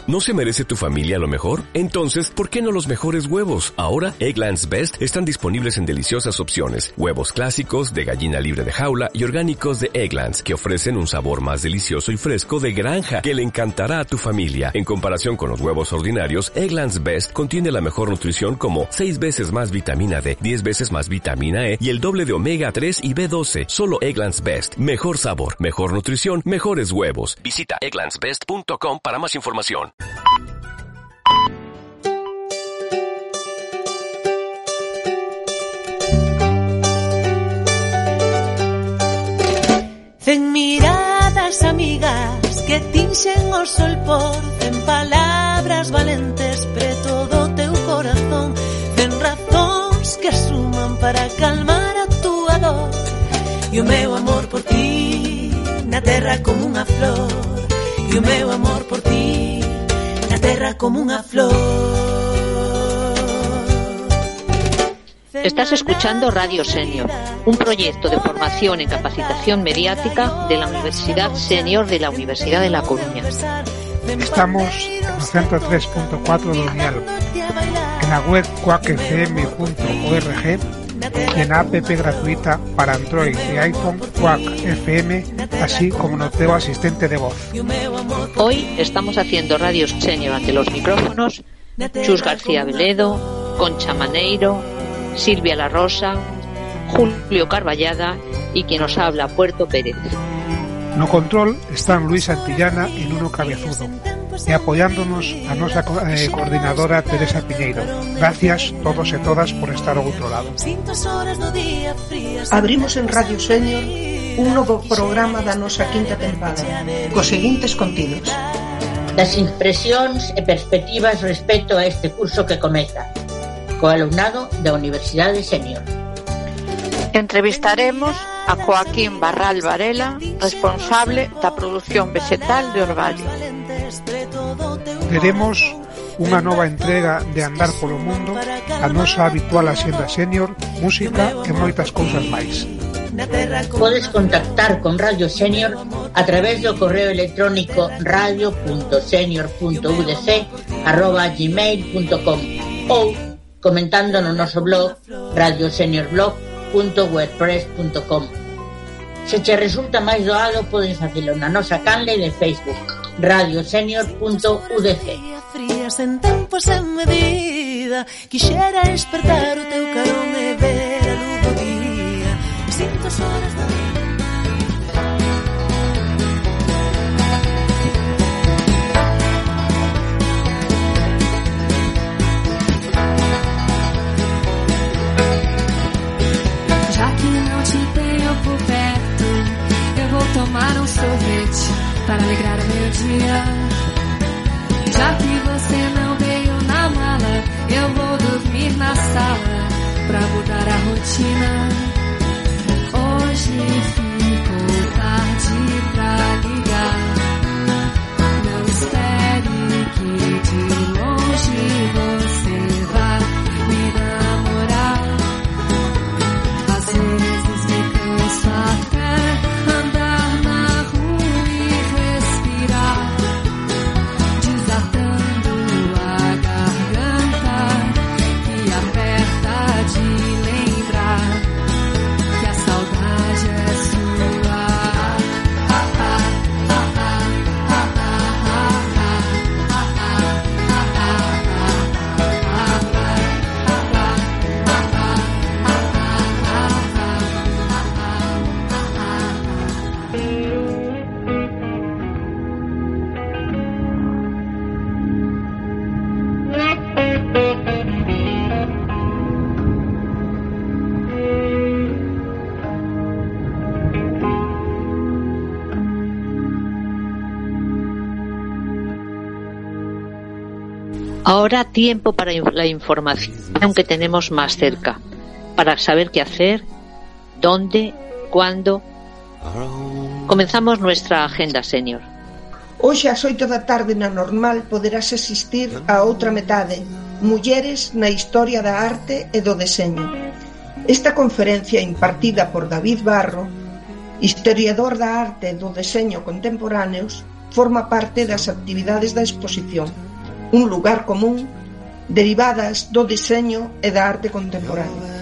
¿No se merece tu familia lo mejor? Entonces, ¿por qué no los mejores huevos? Ahora, Eggland's Best están disponibles en deliciosas opciones. Huevos clásicos, de gallina libre de jaula y orgánicos de Eggland's, que ofrecen un sabor más delicioso y fresco de granja que le encantará a tu familia. En comparación con los huevos ordinarios, Eggland's Best contiene la mejor nutrición como 6 veces más vitamina D, 10 veces más vitamina E y el doble de omega 3 y B12. Solo Eggland's Best. Mejor sabor, mejor nutrición, mejores huevos. Visita egglandsbest.com para más información. Cen miradas amigas que tinxen o sol por cen palabras valentes preto do teu corazón, cen razóns que suman para calmar a túa dor e o meu amor por ti na terra como unha flor e o meu amor por ti na terra como unha flor. Estás escuchando Radio Senior, un proyecto de formación en capacitación mediática de la Universidad Senior de la Universidad de La Coruña. Estamos en el 103.4 do dial, en la web quackfm.org y en la app gratuita para Android y iPhone Quack FM, así como no teu asistente de voz. Hoy estamos haciendo Radio Senior ante los micrófonos Chus García Veledo, Concha Maneiro, Silvia La Rosa, Julio Carballada y quien nos habla, Puerto Pérez. No control están Luis Antillana y Nuno Cabezudo, y apoyándonos a nuestra coordinadora Teresa Piñeiro. Gracias todos e todas por estar ao outro lado. Abrimos en Radio Senior un novo programa da nosa quinta tempada, cos seguintes contidos: das impresións e perspectivas respecto a este curso que comeza, co alumnado da Universidade Senior. Entrevistaremos a Joaquín Barral Varela, responsable da produción vegetal de Orvallo. Teremos unha nova entrega de Andar polo Mundo, a nosa habitual axenda senior, música e moitas cousas máis. Podes contactar con Radio Senior a través do correo electrónico radio.senior.udc@gmail.com ou comentando no noso blog radioseniorblog.wordpress.com. Se che resulta máis doado, podes facelo na nosa canle de Facebook radiosenior.udc. Frías en tempo sen medida, quixera despertar o teu carón e ver a luz do día. Sinto as horas da vida. Tomar um sorvete para alegrar o meu dia. Já que você não veio na mala, eu vou dormir na sala pra mudar a rotina. Hoje ficou tarde pra ligar. Não espere que de longe você vá me namorar. Às vezes me canso até andar na rua e respirar, desatando a garganta que aperta de lembrar que a saudade é sua. Ahora tiempo para la información que tenemos más cerca, para saber qué hacer, dónde, cuándo. Comenzamos nuestra agenda senior. Hoxe ás 8 da tarde na Normal poderás asistir a outra metade, Mulleres na Historia da Arte e do Deseño. Esta conferencia impartida por David Barro, historiador da arte e do deseño contemporáneos, forma parte das actividades da exposición, un lugar común derivadas do deseño e da arte contemporánea.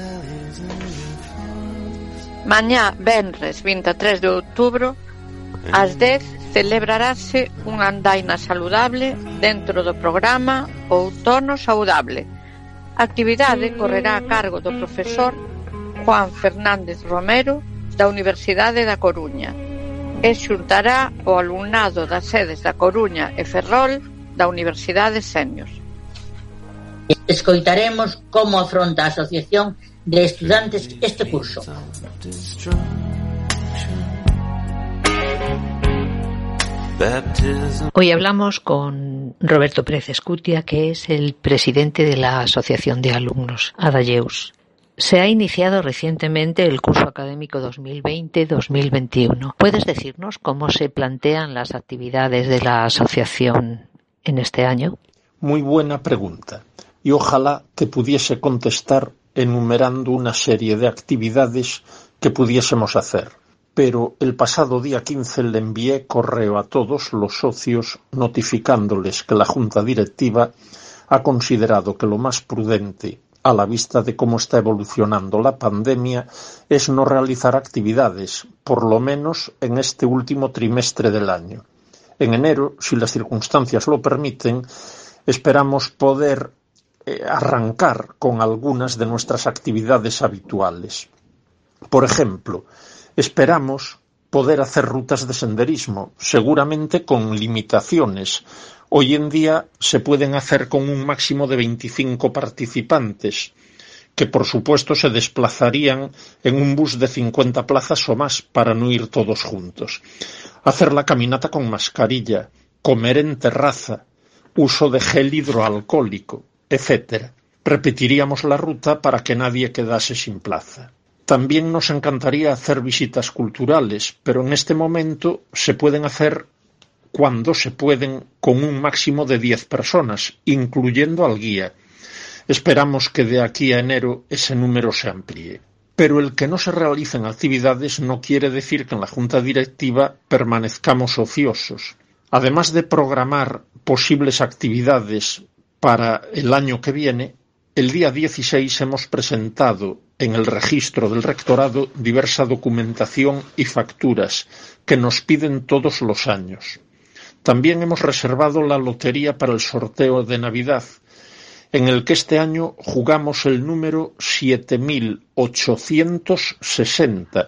Mañá, venres 23 de outubro, ás 10 celebrarase unha andaina saludable dentro do programa Outono Saudable. A actividade correrá a cargo do profesor Juan Fernández Romero da Universidade da Coruña e xuntará o alumnado das sedes da Coruña e Ferrol da Universidade Senior. Escoitaremos como afronta a Asociación de Estudantes este curso. Hoy hablamos con Roberto Pérez Escutia, que es el presidente de la Asociación de Alumnos, Adayeus. Se ha iniciado recientemente el curso académico 2020-2021. ¿Puedes decirnos cómo se plantean las actividades de la asociación en este año? Muy buena pregunta, y ojalá te pudiese contestar enumerando una serie de actividades que pudiésemos hacer. Pero el pasado día 15 le envié correo a todos los socios notificándoles que la Junta Directiva ha considerado que lo más prudente, a la vista de cómo está evolucionando la pandemia, es no realizar actividades, por lo menos en este último trimestre del año. En enero, si las circunstancias lo permiten, esperamos poder arrancar con algunas de nuestras actividades habituales. Por ejemplo, esperamos poder hacer rutas de senderismo, seguramente con limitaciones. Hoy en día se pueden hacer con un máximo de 25 participantes, que por supuesto se desplazarían en un bus de 50 plazas o más para no ir todos juntos. Hacer la caminata con mascarilla, comer en terraza, uso de gel hidroalcohólico, etc. Repetiríamos la ruta para que nadie quedase sin plaza. También nos encantaría hacer visitas culturales, pero en este momento se pueden hacer cuando se pueden con un máximo de 10 personas, incluyendo al guía. Esperamos que de aquí a enero ese número se amplíe. Pero el que no se realicen actividades no quiere decir que en la Junta Directiva permanezcamos ociosos. Además de programar posibles actividades para el año que viene, el día 16 hemos presentado en el registro del rectorado diversa documentación y facturas que nos piden todos los años. También hemos reservado la lotería para el sorteo de Navidad, en el que este año jugamos el número 7860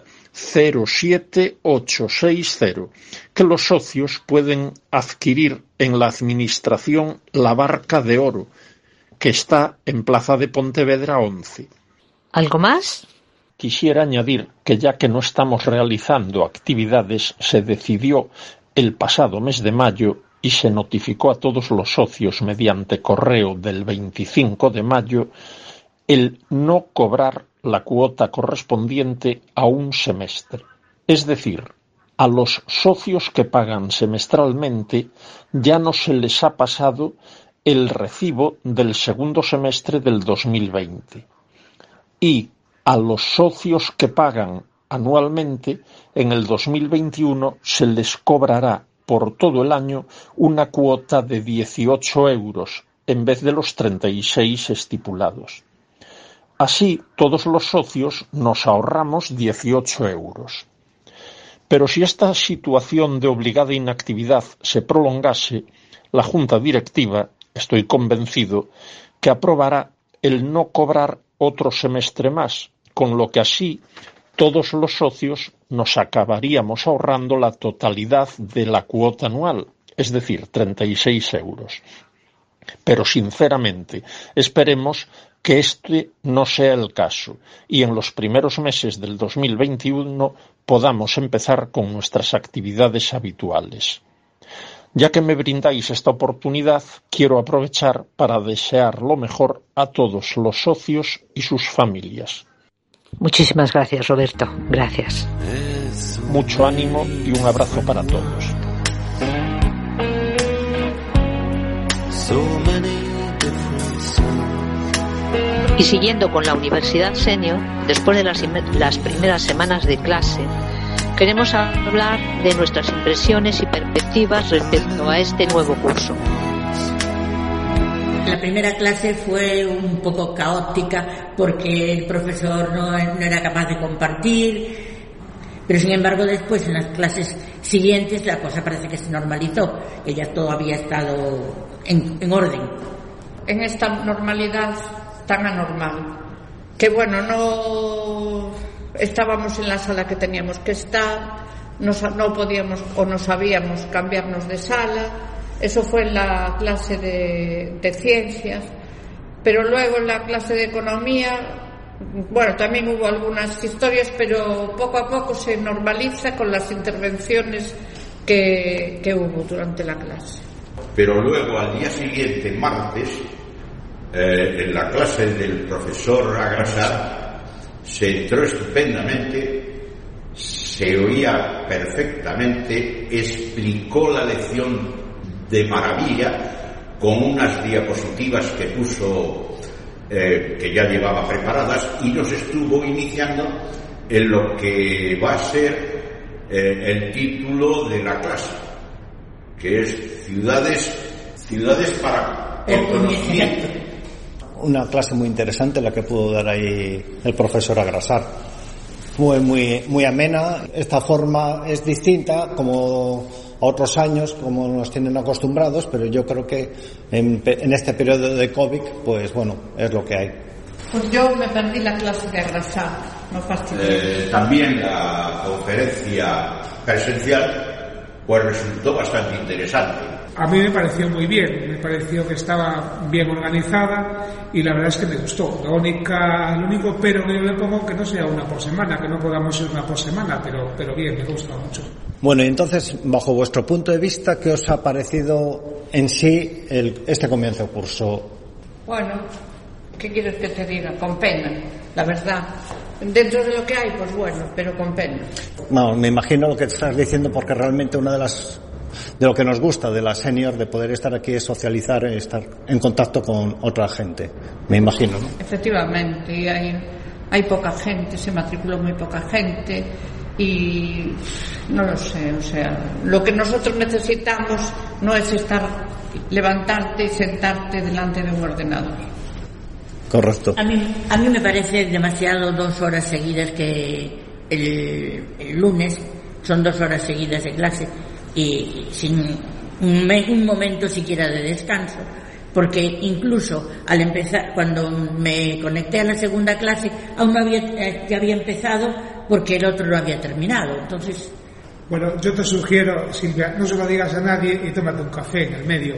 07860, que los socios pueden adquirir en la administración La Barca de Oro, que está en Plaza de Pontevedra 11. ¿Algo más? Quisiera añadir que ya que no estamos realizando actividades, se decidió el pasado mes de mayo y se notificó a todos los socios mediante correo del 25 de mayo el no cobrar la cuota correspondiente a un semestre. Es decir, a los socios que pagan semestralmente ya no se les ha pasado el recibo del segundo semestre del 2020. Y a los socios que pagan anualmente, en el 2021 se les cobrará por todo el año una cuota de 18 euros en vez de los 36 estipulados. Así, todos los socios nos ahorramos 18 euros. Pero si esta situación de obligada inactividad se prolongase, la Junta Directiva, estoy convencido, que aprobará el no cobrar otro semestre más, con lo que así todos los socios nos acabaríamos ahorrando la totalidad de la cuota anual, es decir, 36 euros. Pero sinceramente, esperemos que este no sea el caso y en los primeros meses del 2021 podamos empezar con nuestras actividades habituales. Ya que me brindáis esta oportunidad, quiero aprovechar para desear lo mejor a todos los socios y sus familias. Muchísimas gracias, Roberto. Gracias. Mucho ánimo y un abrazo para todos. Y siguiendo con la Universidad Senior, después de las primeras semanas de clase, queremos hablar de nuestras impresiones y perspectivas respecto a este nuevo curso. La primera clase fue un poco caótica porque el profesor no era capaz de compartir, pero sin embargo después en las clases siguientes la cosa parece que se normalizó, que ya todo había estado en orden. En esta normalidad tan anormal, que bueno, no estábamos en la sala que teníamos que estar, no podíamos o no sabíamos cambiarnos de sala. Eso fue en la clase de ciencias, pero luego en la clase de economía, bueno, también hubo algunas historias, pero poco a poco se normaliza con las intervenciones que hubo durante la clase. Pero luego al día siguiente, martes, en la clase del profesor Agrasar, se entró estupendamente, se oía perfectamente, explicó la lección de maravilla, con unas diapositivas que puso, que ya llevaba preparadas, y nos estuvo iniciando en lo que va a ser el título de la clase, que es ciudades para el conocimiento. Una clase muy interesante la que pudo dar ahí el profesor Agrasar. Muy amena. Esta forma es distinta como a otros años, como nos tienen acostumbrados, pero yo creo que en este periodo de COVID, pues bueno, es lo que hay. Pues yo me perdí la clase de Agrasar, no fastidié. También la conferencia presencial pues resultó bastante interesante. A mí me pareció muy bien, me pareció que estaba bien organizada y la verdad es que me gustó. Lo único pero que yo le pongo que no sea una por semana, que no podamos ir una por semana, pero bien, me gusta mucho. Bueno, y entonces, bajo vuestro punto de vista, ¿qué os ha parecido en sí este comienzo de curso? Bueno, ¿qué quieres que te diga? Con pena, la verdad. Dentro de lo que hay, pues bueno, pero con pena. No, me imagino lo que estás diciendo, porque realmente una de lo que nos gusta de la senior, de poder estar aquí, es socializar, estar en contacto con otra gente, me imagino, ¿no? Efectivamente, y hay poca gente, se matriculó muy poca gente y no lo sé, o sea, lo que nosotros necesitamos no es levantarte y sentarte delante de un ordenador. Correcto. A mí me parece demasiado 2 horas seguidas, que el lunes son 2 horas seguidas de clase y sin un momento siquiera de descanso, porque incluso al empezar, cuando me conecté a la segunda clase, aún no ya había empezado porque el otro no había terminado. Entonces, bueno, yo te sugiero, Silvia, no se lo digas a nadie y tómate un café en el medio.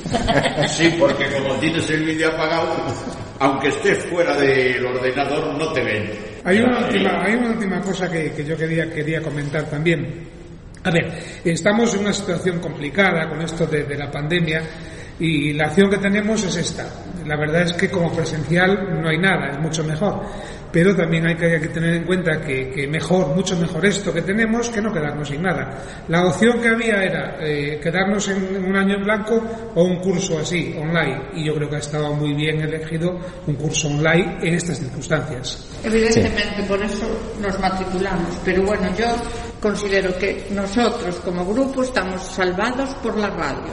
Sí, porque como tienes el vídeo apagado, aunque estés fuera del ordenador, no te ven. Hay una última cosa que yo quería comentar también. A ver, estamos en una situación complicada con esto de la pandemia y la acción que tenemos es esta. La verdad es que como presencial no hay nada, es mucho mejor. Pero también hay que tener en cuenta que mucho mejor esto que tenemos que no quedarnos sin nada. La opción que había era quedarnos en un año en blanco o un curso así, online. Y yo creo que ha estado muy bien elegido un curso online en estas circunstancias. Evidentemente, sí. Por eso nos matriculamos. Pero bueno, yo considero que nosotros como grupo estamos salvados por la radio.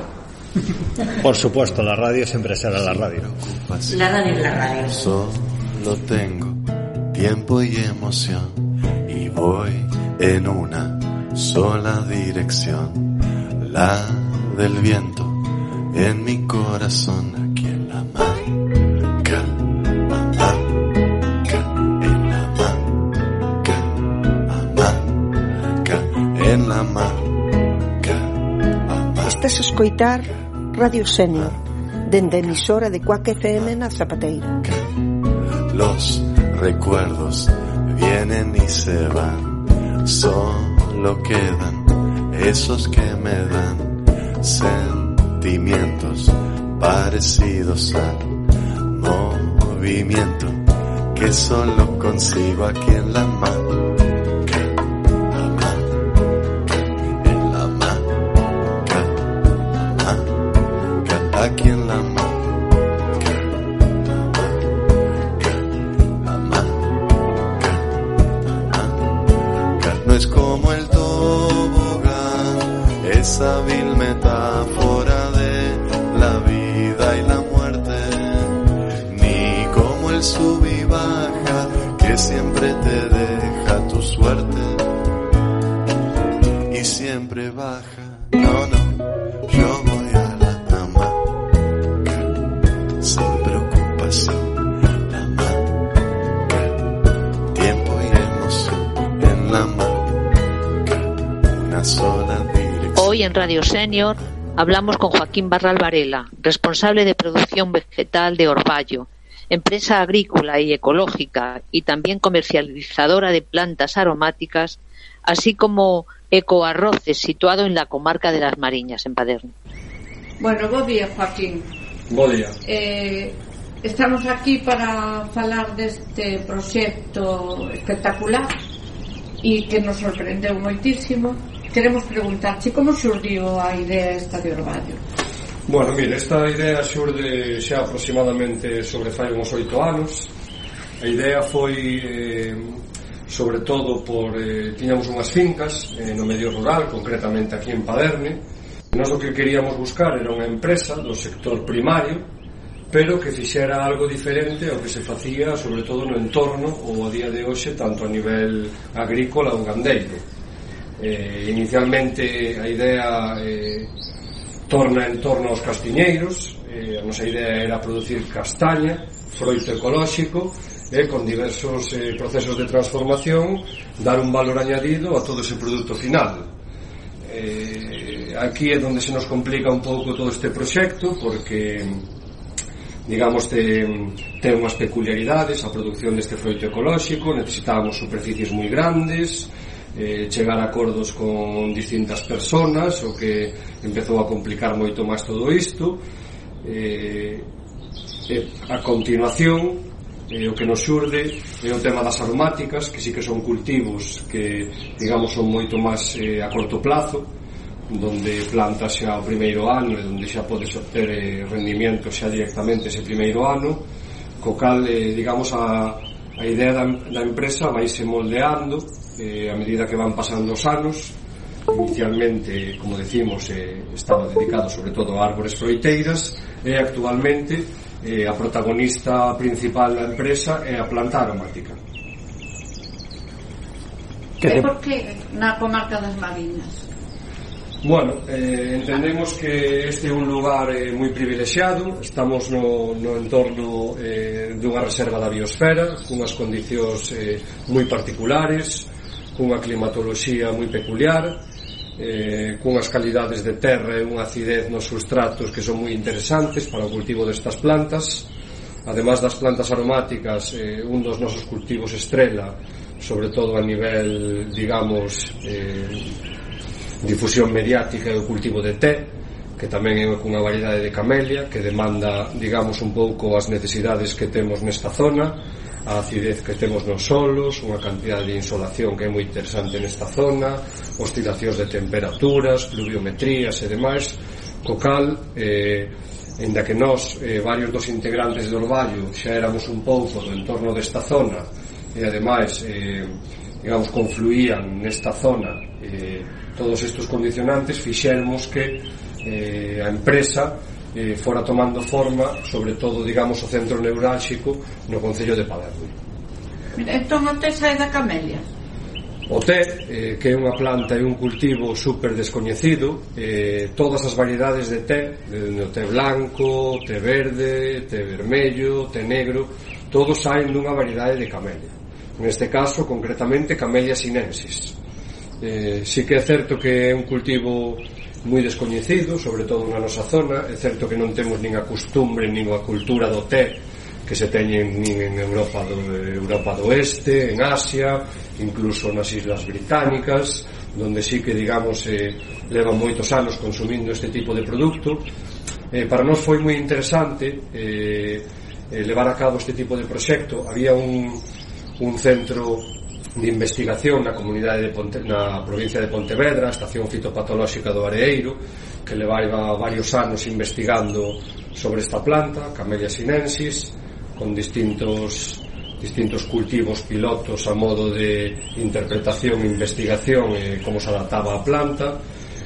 Por supuesto, la radio siempre será la radio. La radio es la radio. Solo tengo tiempo y emoción y voy en una sola dirección, la del viento en mi corazón, aquí en la Manca, en la Manca, en la Manca. Estás a escoitar Radio Senior, dende emisora de Cuac FM na Zapateira. Los recuerdos vienen y se van, solo quedan esos que me dan sentimientos parecidos al movimiento que solo consigo aquí en la mano. Aquí en la Manca, no es como el esa vil metáfora de la vida y la muerte, ni como el sub y baja que siempre te deja tu suerte y siempre baja. No, yo voy a la hamaca sin preocupación, la hamaca, tiempo y emoción en la hamaca, una sola dirección. Hoy en Radio Senior hablamos con Joaquín Barral Varela, responsable de producción vegetal de Orballo, empresa agrícola y ecológica y también comercializadora de plantas aromáticas, así como Ecoarroces, situado en la comarca de Las Mariñas, en Paderne. Bueno, bo día, Joaquín. Bo día. Estamos aquí para falar deste proxecto espectacular e que nos sorprendeu moitísimo. Queremos preguntarche como xurdiu a idea esta de Orballo. Bueno, mire, esta idea xurde xa aproximadamente sobre fai uns 8 anos. A idea foi sobre todo por tiñamos unhas fincas no medio rural, concretamente aquí en Paderne. Nós o que queríamos buscar era unha empresa do sector primario, pero que fixera algo diferente ao que se facía sobre todo no entorno ou a día de hoxe, tanto a nivel agrícola ou gandeiro. Inicialmente a idea torna en torno aos castiñeiros. A nosa idea era producir castaña, froito ecolóxico, con diversos procesos de transformación, dar un valor añadido a todo ese produto final. Aquí é onde se nos complica un pouco todo este proxecto, porque digamos ten unhas peculiaridades a produción deste froito ecolóxico. Necesitábamos superficies moi grandes, chegar a acordos con distintas personas, o que empezou a complicar moito máis todo isto. A continuación, o que nos xurde é o tema das aromáticas, que sí que son cultivos que, digamos, son moito máis a corto plazo, donde plantas xa o primeiro ano e donde xa podes obter rendimiento xa directamente ese primeiro ano, co cal, digamos, a idea da empresa vaise moldeando a medida que van pasando os anos. Inicialmente, como decimos, estaba dedicado sobre todo a árbores froiteiras, e actualmente a protagonista principal da empresa é a planta aromática. E por que na comarca das Mariñas? Bueno, entendemos que este é un lugar moi privilexiado. Estamos no entorno dunha reserva da biosfera, cunhas condicións moi particulares, cunha climatoloxía moi peculiar, cunhas calidades de terra e unha acidez nos substratos que son moi interesantes para o cultivo destas plantas. Ademais das plantas aromáticas, un dos nosos cultivos estrela, sobre todo a nivel, digamos, difusión mediática, é o cultivo de té, que tamén é cunha variedade de camelia que demanda, digamos, un pouco as necesidades que temos nesta zona, a acidez que temos nos solos, unha cantidad de insolación que é moi interesante nesta zona, oscilacións de temperaturas, pluviometrías e demais, co cal, ainda que nós, varios dos integrantes do Orballo, xa éramos un pouco do entorno desta zona, e ademais, digamos, confluían nesta zona todos estes condicionantes, fixéramos que a empresa fora tomando forma, sobre todo, digamos, o centro neurálxico no concello de Paderne. Entón o té sae da camelia? O té, que é unha planta e un cultivo super descoñecido, todas as variedades de té, o té blanco, té verde, té vermello, té negro, todos saen dunha variedade de camelia. Neste caso, concretamente, Camellia sinensis. Sí que é certo que é un cultivo moi descoñecido, sobre todo na nosa zona. É certo que non temos nin a costumbre nin a cultura do té que se teñen nin en Europa do Oeste, en Asia, incluso nas Islas Británicas, donde sí que, digamos, levan moitos anos consumindo este tipo de produto. Para nós foi moi interesante levar a cabo este tipo de proxecto. Había un centro de investigación na comunidade na provincia de Pontevedra, a Estación Fitopatolóxica do Areeiro, que levaba varios anos investigando sobre esta planta, Camellia sinensis, con distintos cultivos pilotos a modo de interpretación e investigación como se adaptaba a planta.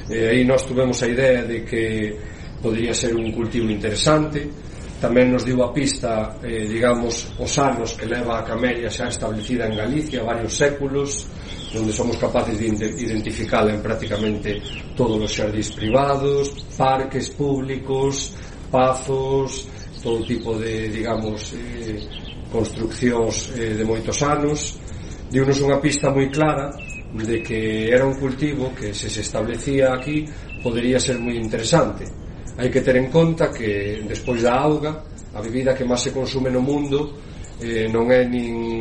Aí nós tuvemos a idea de que podría ser un cultivo interesante. Tamén nos diu a pista, digamos, os anos que leva a camelia xa establecida en Galicia, varios séculos, onde somos capaces de identificala en prácticamente todos os xardís privados, parques públicos, pazos, todo tipo de, digamos, construccións de moitos anos. Diunos unha pista moi clara de que era un cultivo que, se establecía aquí, podería ser moi interesante. Hai que ter en conta que despois da auga, a bebida que máis se consume no mundo non é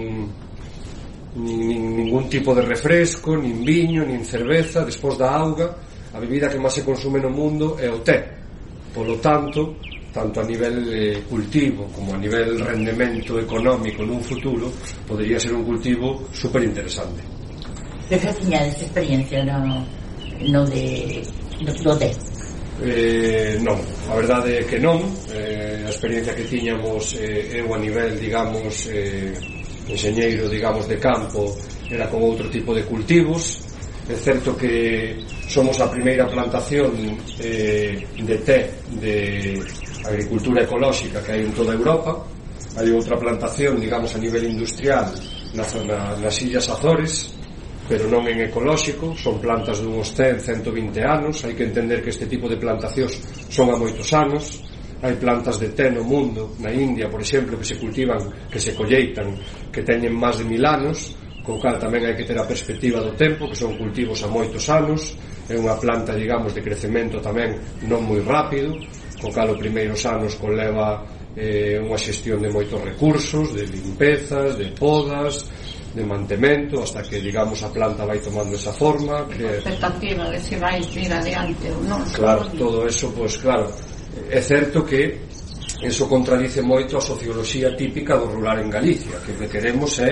ningún tipo de refresco, nin viño, nin cerveza. Despois da auga, a bebida que máis se consume no mundo é o té. Polo tanto a nivel cultivo como a nivel rendemento económico nun futuro, podría ser un cultivo super interesante. Que tiñades experiencia no do té? Non, a verdade é que non. A experiencia que tiñamos eu a nivel, digamos, enxeñeiro, digamos, de campo, era con outro tipo de cultivos. É certo que somos a primeira plantación de té de agricultura ecolóxica que hai en toda Europa. Hai outra plantación, digamos, a nivel industrial nas Illas Azores, pero non en ecolóxico. Son plantas dunhos 100, 120 anos. Hai que entender que este tipo de plantacións son a moitos anos. Hai plantas de té no mundo, na India, por exemplo, que se cultivan, que se colleitan, que teñen máis de 1000 anos, co cal tamén hai que ter a perspectiva do tempo, que son cultivos a moitos anos. É unha planta, digamos, de crecemento tamén non moi rápido, co cal os primeiros anos conleva unha xestión de moitos recursos, de limpezas, de podas, de mantemento, hasta que, digamos, a planta vai tomando esa forma. Expectativa de se vai ir adiante ou non. Claro, todo eso, pois claro, é certo que eso contradice moito a socioloxía típica do rural en Galicia, que o que queremos é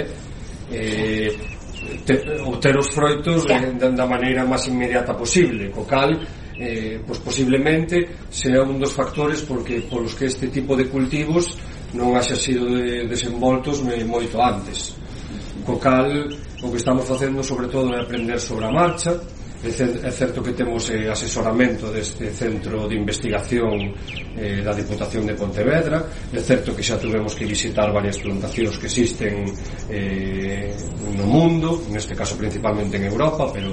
obter os froitos da maneira máis inmediata posible, co cal pois posiblemente sea un dos factores polos que este tipo de cultivos non haxa sido desenvoltos moito antes. Co cal, o que estamos facendo sobre todo é aprender sobre a marcha. É certo que temos asesoramento deste centro de investigación da Diputación de Pontevedra. É certo que xa tuvemos que visitar varias plantacións que existen no mundo, neste caso principalmente en Europa, pero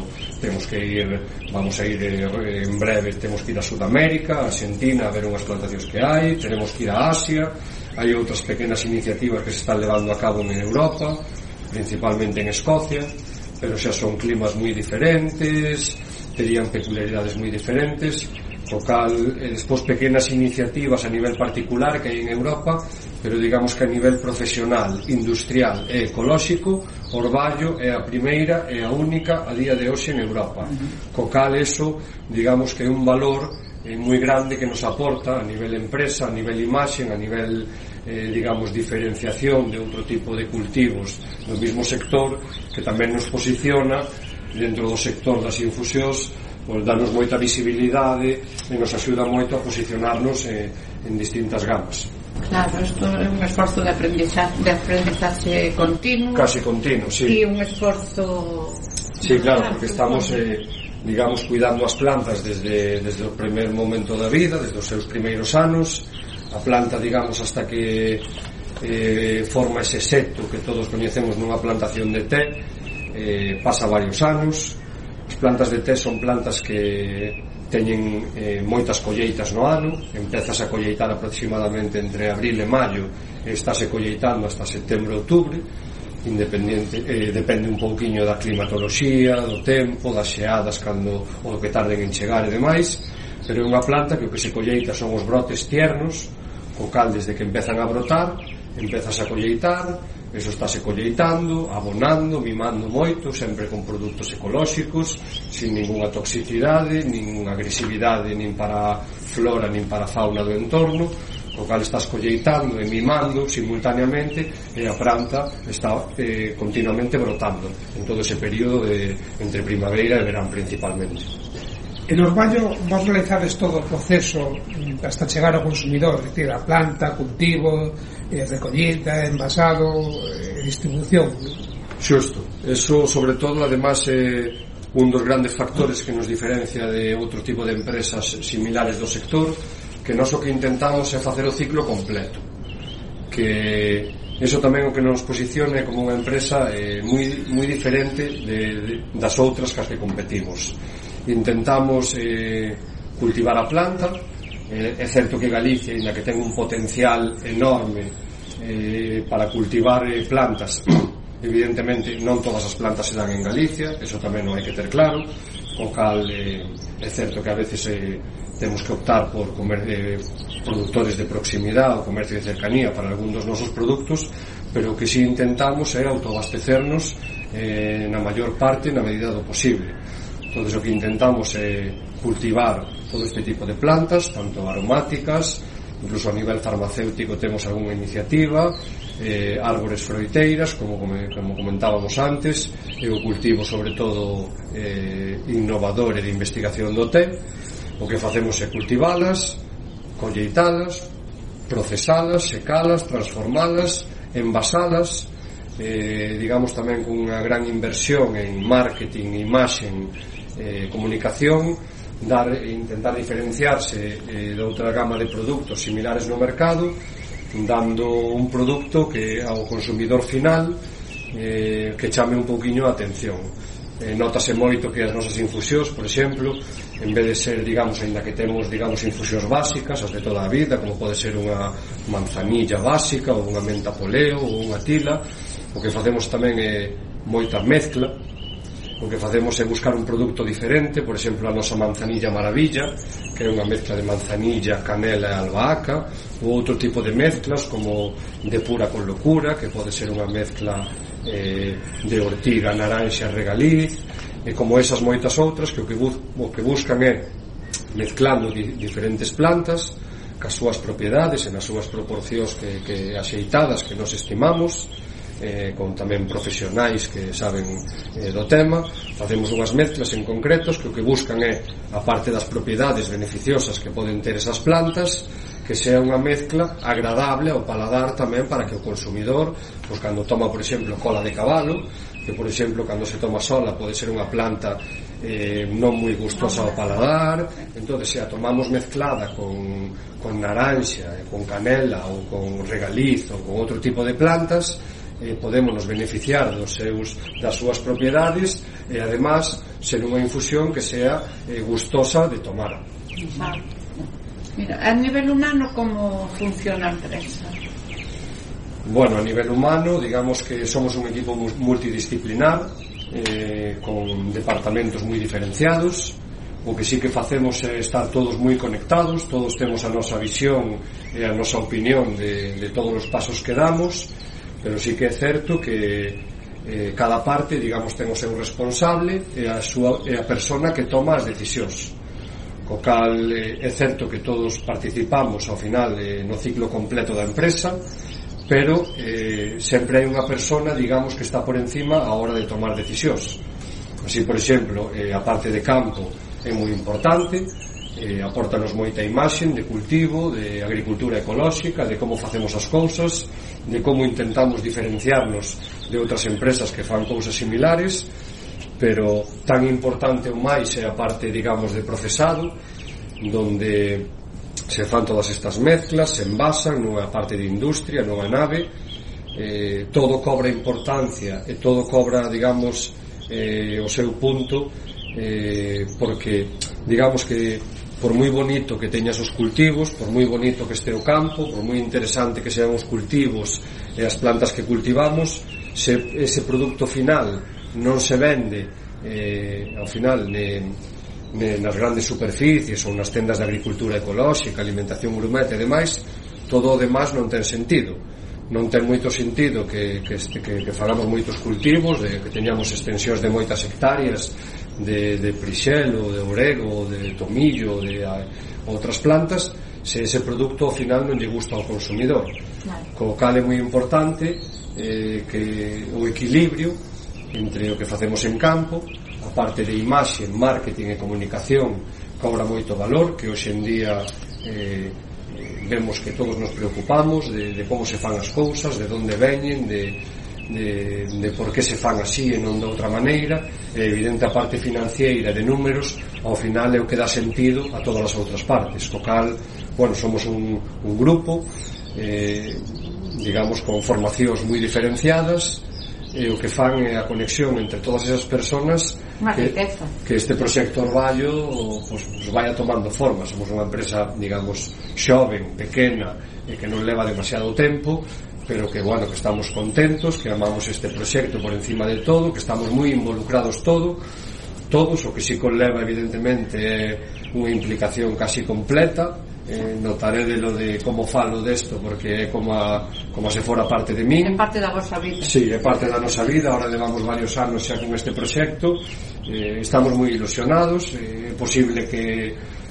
vamos a ir en breve, temos que ir a Sudamérica, a Argentina, a ver unhas plantacións que hai, tenemos que ir a Asia. Hai outras pequenas iniciativas que se están levando a cabo en Europa, principalmente en Escocia, pero xa son climas moi diferentes, terían peculiaridades moi diferentes, co cal despois pequenas iniciativas a nivel particular que hai en Europa, pero digamos que a nivel profesional, industrial e ecolóxico, Orballo é a primeira e a única a día de hoxe en Europa, co cal eso, digamos que é un valor moi grande que nos aporta a nivel empresa, a nivel imaxen, a nivel digamos diferenciación de outro tipo de cultivos do mismo sector, que tamén nos posiciona dentro do sector das infusións, pois danos moita visibilidade e nos axuda moito a posicionarnos en distintas gamas. Claro, isto é un esforzo de aprendizaxe continuo, casi continuo, sí. E un esforzo, sí, claro, porque estamos digamos cuidando as plantas desde o primer momento da vida, desde os seus primeiros anos. A planta, digamos, hasta que forma ese seto que todos coñecemos nunha plantación de té, pasa varios anos. As plantas de té son plantas que teñen moitas colleitas no ano. Empezas a colleitar aproximadamente entre abril e maio e estáse colleitando hasta setembro e outubro. Depende un pouquiño da climatoloxía, do tempo, das xeadas o que tarden en chegar e demais, pero é unha planta que o que se colleita son os brotes tiernos, co cal desde que empezan a brotar empezas a colleitar, eso estáse colleitando, abonando, mimando moito, sempre con produtos ecolóxicos, sin ninguna toxicidade, nin agresividade nin para a flora nin para a fauna do entorno, co cal estás colleitando e mimando simultaneamente e a planta está continuamente brotando en todo ese período entre primavera e verán principalmente. En Orballo vos realizades todo o proceso hasta chegar ao consumidor, é dicir, a planta, cultivo, recollida, envasado, distribución. Xusto, eso sobre todo además un dos grandes factores que nos diferencia de outro tipo de empresas similares do sector, que nós o que intentamos é facer o ciclo completo, que iso tamén o que nos posiciona como unha empresa moi diferente das outras cas que competimos. Intentamos cultivar a planta. É certo que Galicia, ainda que ten un potencial enorme para cultivar plantas, evidentemente non todas as plantas se dan en Galicia, eso tamén non hai que ter claro, o cal é certo que a veces temos que optar por productores de proximidade ou comercio de cercanía para algún dos nosos produtos, pero o que si intentamos é autoabastecernos na maior parte na medida do posible. Entón, o que intentamos é cultivar todo este tipo de plantas, tanto aromáticas, incluso a nivel farmacéutico temos algunha iniciativa, árbores froiteiras, como comentábamos antes, e o cultivo sobre todo innovador e de investigación do té. O que facemos é cultivalas, colleitalas, procesalas, secalas, transformalas, envasalas, digamos tamén con unha gran inversión en marketing, imaxen, comunicación, intentar diferenciarse de outra gama de produtos similares no mercado, dando un produto que ao consumidor final que chame un pouquiño a atención. Notase moito que as nosas infusións, por exemplo, en vez de ser, digamos, ainda que temos, digamos, infusións básicas, as de toda a vida, como pode ser unha manzanilla básica ou unha menta poleo ou unha tila, o que facemos tamén é moita mezcla. O que facemos é buscar un produto diferente, por exemplo, a nosa manzanilla maravilla, que é unha mezcla de manzanilla, canela e albahaca, ou outro tipo de mezclas como de pura con locura, que pode ser unha mezcla de ortiga, naranxa, regaliz, e como esas moitas outras que o que buscan é mezclando diferentes plantas cas súas propiedades e nas súas proporcións que axeitadas que nos estimamos, con tamén profesionais que saben do tema. Facemos unhas mezclas en concretos que o que buscan é, a parte das propiedades beneficiosas que poden ter esas plantas, que sea unha mezcla agradable ao paladar tamén, para que o consumidor, pois cando toma, por exemplo, cola de cabalo, que por exemplo cando se toma sola pode ser unha planta non moi gustosa ao paladar, entón se a tomamos mezclada con naranxa, con canela ou con regaliz ou con outro tipo de plantas, podemos nos beneficiar das súas propiedades e además ser unha infusión que sea gustosa de tomar. Mira, a nivel humano, como funciona a empresa? Bueno, a nivel humano, digamos que somos un equipo multidisciplinar, con departamentos moi diferenciados. O que sí que facemos é estar todos moi conectados, todos temos a nosa visión e a nosa opinión de todos os pasos que damos, pero sí que é certo que cada parte, digamos, ten o seu responsable e a persona que toma as decisións. Co cal é certo que todos participamos ao final no ciclo completo da empresa, pero sempre hai unha persona, digamos, que está por encima a hora de tomar decisións. Así, por exemplo, a parte de campo é moi importante, apórtanos moita imaxen de cultivo, de agricultura ecolóxica, de como facemos as cousas, de como intentamos diferenciarnos de outras empresas que fan cousas similares, pero tan importante ou máis é a parte, digamos, de procesado, donde se fan todas estas mezclas, se envasan nunha parte de industria, nunha nave, todo cobra importancia e todo cobra, digamos, o seu punto, porque, digamos que por moi bonito que teñas os cultivos, por moi bonito que este o campo, por moi interesante que sean os cultivos e as plantas que cultivamos, se ese produto final non se vende ao final nas grandes superficies ou nas tendas de agricultura ecolóxica, alimentación gourmet e demais, todo o demais non ten sentido. Non ten moito sentido que fagamos moitos cultivos, que teñamos extensións de moitas hectáreas de prixelo, de orego, de tomillo, de outras plantas, se ese produto ao final non lle gusta ao consumidor. Co cal é moi importante que o equilibrio entre o que facemos en campo, a parte de imaxe, marketing e comunicación, cobra moito valor, que hoxe en día vemos que todos nos preocupamos de como se fan as cousas, de onde veñen, de por que se fan así e non de outra maneira. É evidente a parte financiera de números, ao final é o que dá sentido a todas as outras partes, co cal, bueno, somos un grupo digamos con formacións moi diferenciadas, e o que fan é a conexión entre todas esas personas que este proxecto Orballo pues vaya tomando forma. Somos unha empresa, digamos, xoven, pequena e que non leva demasiado tempo, pero que, bueno, que estamos contentos, que amamos este proxecto por encima de todo, que estamos moi involucrados todos, o que si conleva evidentemente é unha implicación casi completa. Notaré de lo de como falo desto, porque é como se fora parte de min. É parte da vosa vida. Sí, é parte da nosa vida. Ahora levamos varios anos xa con este proxecto, estamos moi ilusionados. É posible que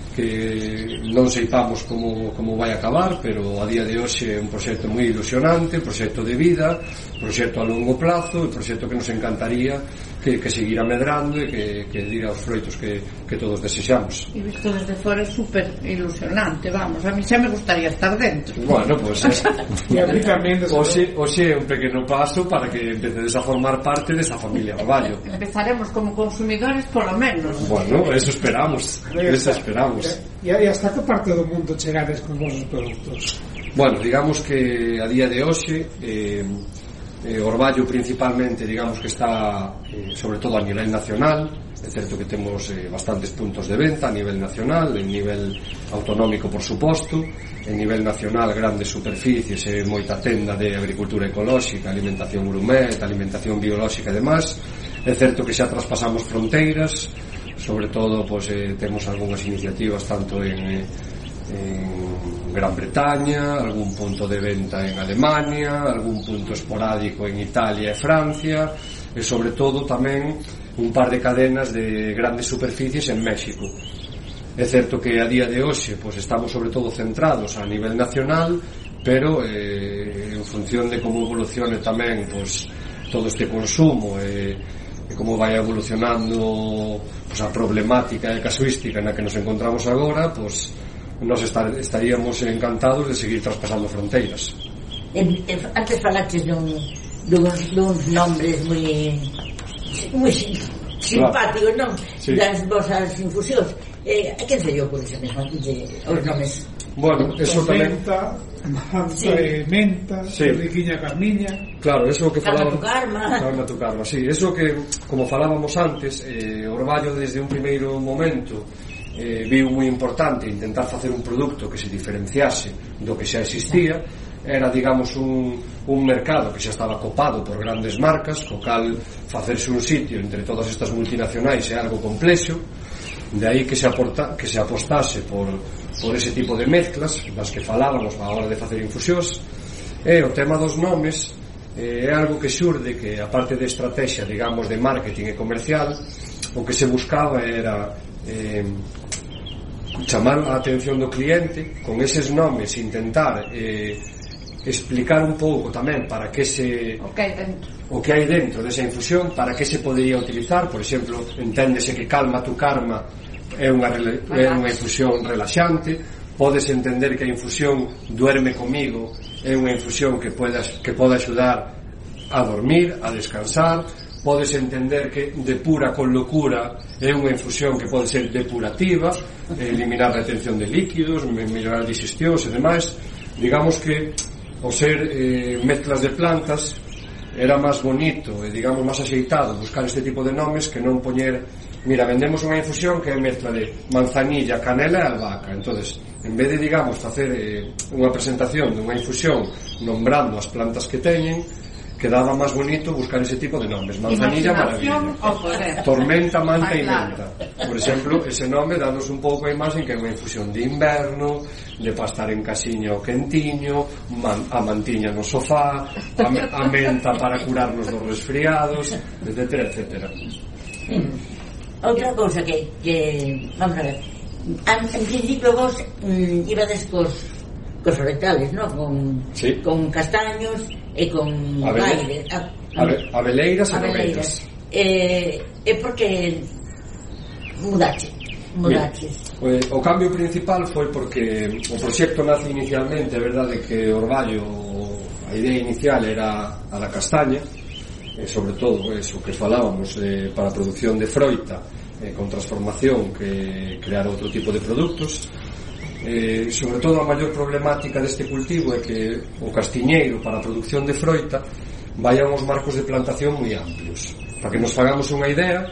non seipamos como vai acabar, pero a día de hoxe é un proxecto moi ilusionante, proxecto de vida, proxecto a longo plazo, proxecto que nos encantaría que seguira medrando e que diga os froitos que todos desexamos. E visto desde fora é super ilusionante, vamos, a mí xa me gustaría estar dentro. Bueno, pues e a mí tamén hoxe é un pequeno paso para que empecedes a formar parte desa familia Orballo. Empezaremos como consumidores polo menos. Bueno, eso esperamos. E hasta que parte do mundo chegades con vosos produtos? Bueno, digamos que a día de hoxe Orballo principalmente, digamos que está sobre todo a nivel nacional. É certo que temos bastantes puntos de venta a nivel nacional, en nivel autonómico por suposto, en nivel nacional grandes superficies e moita tenda de agricultura ecolóxica, alimentación gourmet, alimentación biolóxica e demás. É certo que xa traspasamos fronteiras, sobre todo pues, temos algunhas iniciativas tanto en Gran Bretaña, algún punto de venta en Alemania, algún punto esporádico en Italia e Francia, e sobre todo tamén un par de cadenas de grandes superficies en México. É certo que a día de hoxe pues, estamos sobre todo centrados a nivel nacional, pero en función de como evolucione tamén pues, todo este consumo e como vai evolucionando pues, a problemática e casuística na que nos encontramos agora, pues, nos estaríamos encantados de seguir traspasando fronteiras. Antes falaches duns nombres moi simpáticos, non? Sí. Das vosas infusións. A quen se lle ocurre xa mesmo os nomes? Bueno, eso tamén... Menta, riquiña carmiña. Claro, eso que falábamos... Calma tu karma, sí. Eso que, como falábamos antes, Orballo desde un primeiro momento viu moi importante intentar facer un produto que se diferenciase do que xa existía. Era, digamos, un mercado que xa estaba copado por grandes marcas, co cal facerse un sitio entre todas estas multinacionais é algo complexo. De aí que se apostase por ese tipo de mezclas das que falábamos a hora de facer infusións. E o tema dos nomes é algo que xurde que, a parte de estrategia, digamos, de marketing e comercial, o que se buscaba era chamar a atención do cliente con eses nomes, intentar explicar un pouco tamén para que o que hai dentro desa infusión, para que se podería utilizar. Por exemplo, enténdese que Calma tu Karma é unha infusión relaxante. Podes entender que a infusión Duerme comigo é unha infusión que pode axudar a dormir, a descansar. Podes entender que Depura con locura é unha infusión que pode ser depurativa, eliminar a retención de líquidos, mellorar digestións e demais. Digamos que ao ser mezclas de plantas era máis bonito e, digamos, máis axeitado buscar este tipo de nomes que non poñer, mira, vendemos unha infusión que é mezcla de manzanilla, canela e albahaca. Entonces, en vez de, digamos, facer unha presentación dunha infusión nombrando as plantas que teñen, quedaba máis bonito buscar ese tipo de nomes. Manzanilla, maravilla. Tormenta, manta e menta. Por exemplo, ese nome danos un pouco a imagen que é unha infusión de inverno, de pa estar en casiña o quentiño, a mantiña no sofá, a menta para curarnos dos resfriados, etcétera, etcétera. Outra cousa que vamos a ver, en principio vos ibades cos vegetales, ¿no? Con castaños e con abeleiras e nogueiras. É porque mudaches. O cambio principal foi porque o proxecto nace inicialmente, é verdade que Orballo, a idea inicial era a da castaña, sobre todo eso que falábamos para a produción de froita, con transformación, que crear outro tipo de produtos. Sobre todo a maior problemática deste cultivo é que o castiñeiro para a produción de froita vai a uns marcos de plantación moi amplios. Para que nos fagamos unha idea,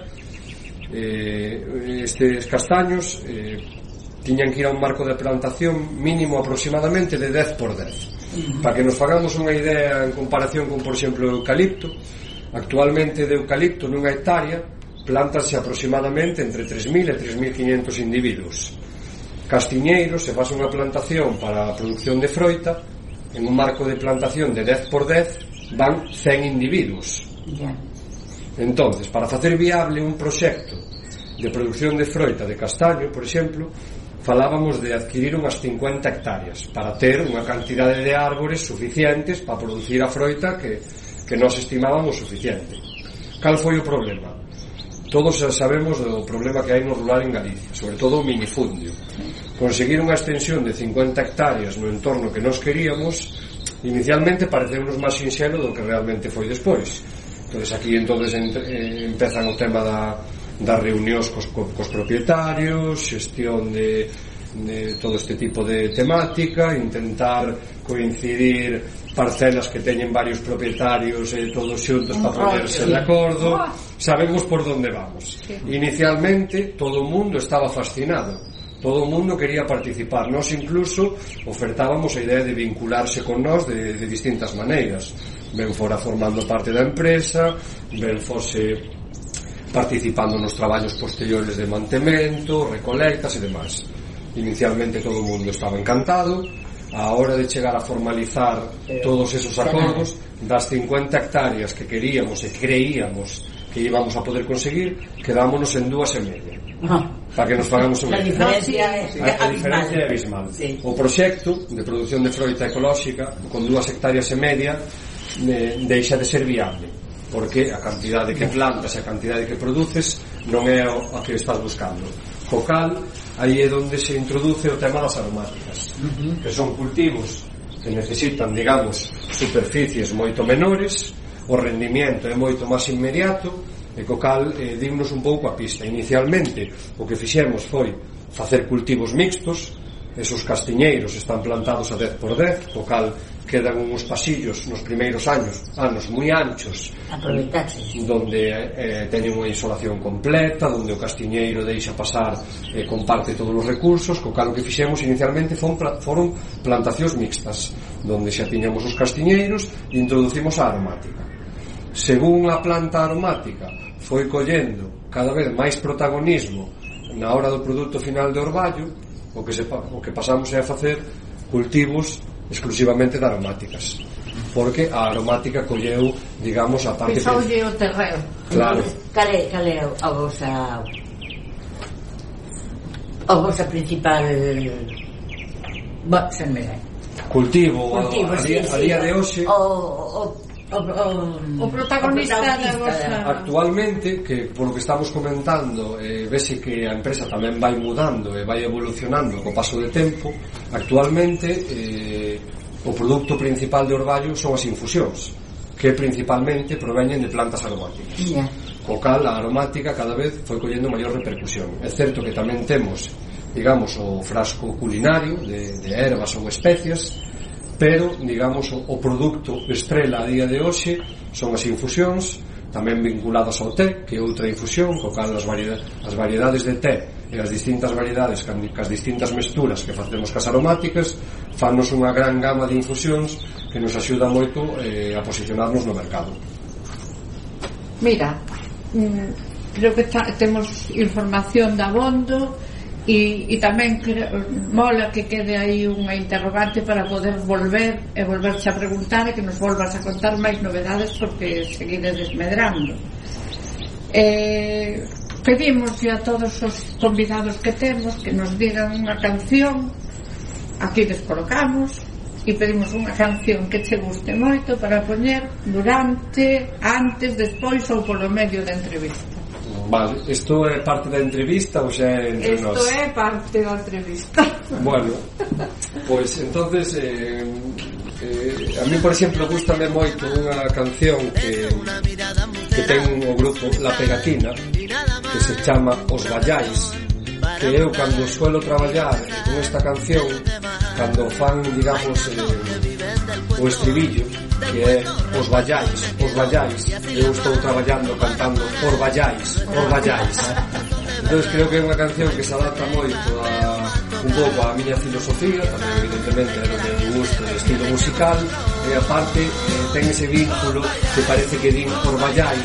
estes castaños tiñan que ir a un marco de plantación mínimo aproximadamente de 10 por 10. Para que nos fagamos unha idea en comparación con, por exemplo, o eucalipto, actualmente de eucalipto nunha hectárea plántanse aproximadamente entre 3.000 e 3.500 individuos. Castiñeiros, se faz unha plantación para a producción de froita, en un marco de plantación de 10 por 10 van 100 individuos. Entonces, para facer viable un proxecto de producción de froita de castaño, por exemplo, falábamos de adquirir unhas 50 hectáreas para ter unha cantidade de árbores suficientes para producir a froita que nós estimábamos suficiente. Cal foi o problema? Todos sabemos do problema que hai no rural en Galicia, sobre todo o minifundio. Conseguir unha extensión de 50 hectáreas no entorno que nós queríamos, inicialmente pareceunos máis sinxelo do que realmente foi despois. Entonces aquí empezan o tema das reunións cos propietarios, xestión de todo este tipo de temática, intentar coincidir parcelas que teñen varios propietarios todos xuntos para ponerse de acordo. Sabemos por onde vamos. Inicialmente todo o mundo estaba fascinado, todo o mundo quería participar. Nós incluso ofertábamos a idea de vincularse con nós de distintas maneiras, ben fora formando parte da empresa, ben fose participando nos traballos posteriores de mantemento, recolectas e demais. Inicialmente todo o mundo estaba encantado. A hora de chegar a formalizar todos esos acordos, das 50 hectáreas que queríamos e creíamos que íbamos a poder conseguir, quedámonos en 2,5. Para que nos fagamos unha idea. A diferencia é abismal. O proxecto de produción de froita ecolóxica con 2,5 hectáreas deixa de ser viable, porque a cantidade que plantas e a cantidade que produces non é a que estás buscando. Co cal, aí é onde se introduce o tema das aromáticas, que son cultivos que necesitan, digamos, superficies moito menores, o rendimiento é moito máis inmediato, e co cal dimos un pouco a pista. Inicialmente o que fixemos foi facer cultivos mixtos. Esos castiñeiros están plantados a 10 por 10, co cal quedan uns pasillos nos primeiros anos moi anchos, donde teñen unha isolación completa, donde o castiñeiro deixa pasar e comparte todos os recursos. Co cal o que fixemos inicialmente foron plantacións mixtas, donde xa tiñamos os castiñeiros e introducimos a aromática. Según a planta aromática foi collendo cada vez máis protagonismo na hora do produto final de orballo, o que pasamos é a facer cultivos exclusivamente de aromáticas, porque a aromática colleu, digamos, a parte pisoulle o terreo. Claro. Cal é a vosa principal cultivo a día de hoxe? O protagonista da vosa... Actualmente, que polo que estamos comentando, vese que a empresa tamén vai mudando e vai evolucionando co paso de tempo. Actualmente o produto principal de orballo son as infusións, que principalmente proveñen de plantas aromáticas. Co cal a aromática cada vez foi collendo maior repercusión. É certo que tamén temos, digamos, o frasco culinario de ervas ou especias, pero, digamos, o produto estrela a día de hoxe son as infusións, tamén vinculadas ao té, que é outra infusión, co cal as variedades de té e as distintas variedades cas distintas mesturas que facemos cas aromáticas fannos unha gran gama de infusións que nos axuda moito a posicionarnos no mercado. Mira, creo que temos información de abondo. E tamén mola que quede aí unha interrogante para poder volverse a preguntar e que nos volvas a contar máis novedades, porque seguides desmedrando. Pedimos a todos os convidados que temos que nos digan unha canción. Aquí les colocamos e pedimos unha canción que che guste moito para poñer durante, antes, despois ou polo medio da entrevista. Vale, isto é parte da entrevista ou xa é entre nós? Isto é parte da entrevista. Bueno, pois entonces A mí, por exemplo, gustame moito unha canción que ten o grupo La Pegatina, que se chama Os Vallais, que eu cando suelo traballar con esta canción, cando fan, digamos, o estribillo, que é Os Vallais, eu estou traballando cantando Os Vallais. Entón creo que é unha canción que se adapta moito un pouco a miña filosofía, tamén evidentemente é o meu gusto de estilo musical, e aparte ten ese vínculo que parece que din Os Vallais.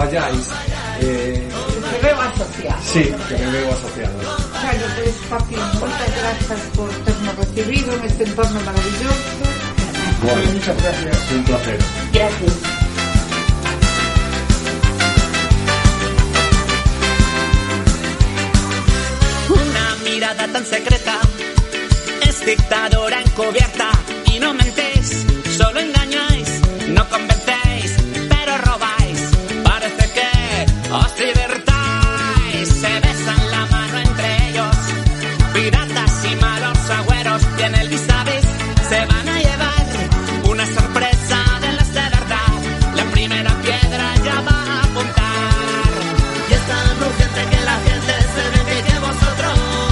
Me veo asociado. Sí, que me veo asociado. Bueno, pues Joaquín, muchas gracias por ternos recibido en este entorno maravilloso. Bueno, muchas gracias. Un placer. Gracias. Una mirada tan secreta es dictadora encubierta y no mentéis, solo engañáis, no convencéis, pero robáis. Parece que os divertáis, se besan la mano entre ellos, piratas y malos agüeros, y en el vis a vis se van a llevar una sorpresa de las de verdad. La primera piedra ya va a apuntar y es tan urgente que la gente se ve que vosotros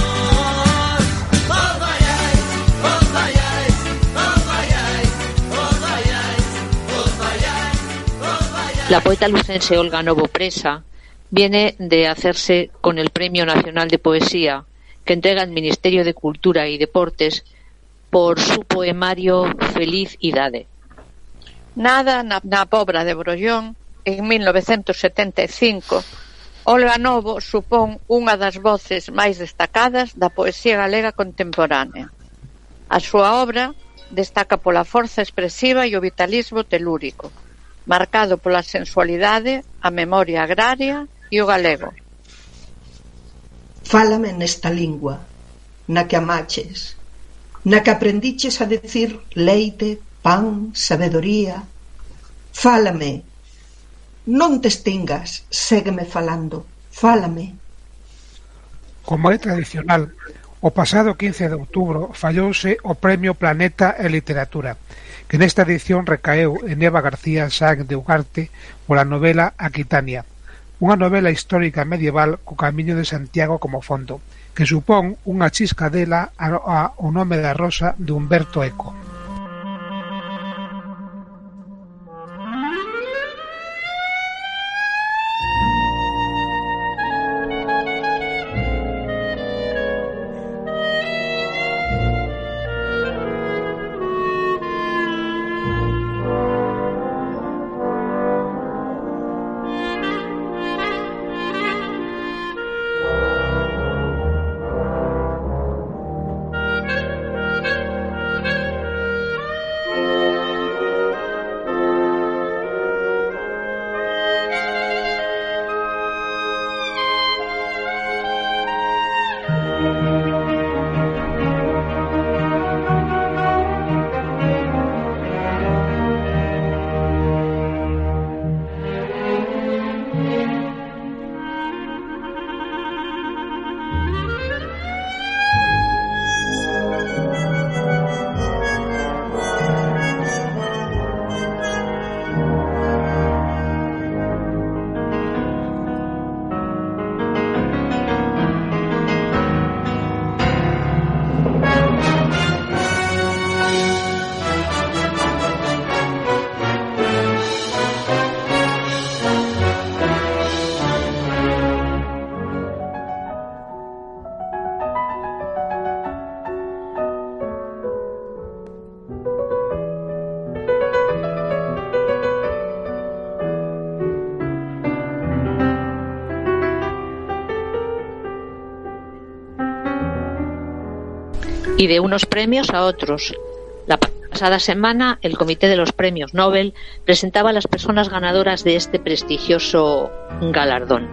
os vayáis. La poeta lucense Olga Novo Presa viene de hacerse con el Premio Nacional de Poesía que entrega el Ministerio de Cultura y Deportes por su poemario Feliz Idade. Nada na Pobra de Brollón, en 1975, Olga Novo supón unha das voces máis destacadas da poesía galega contemporánea. A súa obra destaca pola forza expresiva e o vitalismo telúrico, marcado pola sensualidade, a memoria agraria e o galego. Fálame nesta lingua, na que amaches, na que aprendiches a decir leite, pan, sabedoría. Fálame, non te extingas, ségueme falando, fálame. Como é tradicional, o pasado 15 de outubro fallouse o Premio Planeta en Literatura, que nesta edición recaeu en Eva García Sáenz de Ugarte pola novela Aquitania, unha novela histórica medieval co Camiño de Santiago como fondo, que supón unha chiscadela ao nome da rosa de Humberto Eco. Y de unos premios a otros. La pasada semana, el Comité de los Premios Nobel presentaba a las personas ganadoras de este prestigioso galardón.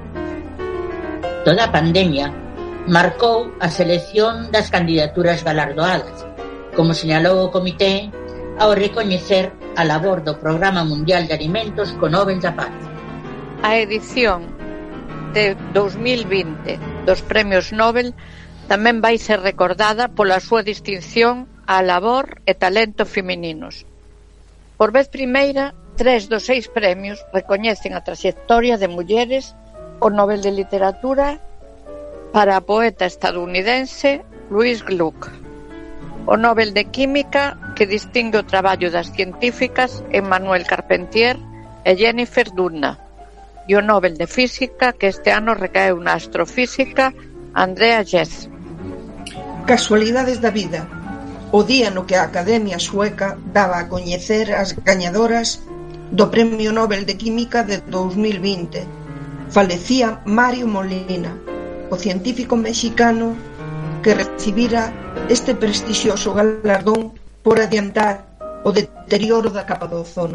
Toda a pandemia marcou a selección das candidaturas galardoadas, como señalou o Comité ao recoñecer a labor do Programa Mundial de Alimentos co Nobel da Paz. A edición de 2020 dos Premios Nobel tamén vai ser recordada pola súa distinción á labor e talento femininos. Por vez primeira, 3 dos 6 premios recoñecen a traxectoria de mulleres: o Nobel de Literatura para a poeta estadounidense Louise Gluck, o Nobel de Química, que distingue o traballo das científicas Emmanuelle Carpentier e Jennifer Doudna, e o Nobel de Física, que este ano recaeu na astrofísica Andrea Ghez. Casualidades da vida. O día no que a Academia Sueca daba a coñecer as gañadoras do Premio Nobel de Química de 2020, falecía Mario Molina, o científico mexicano que recibira este prestixioso galardón por adiantar o deterioro da capa do ozono.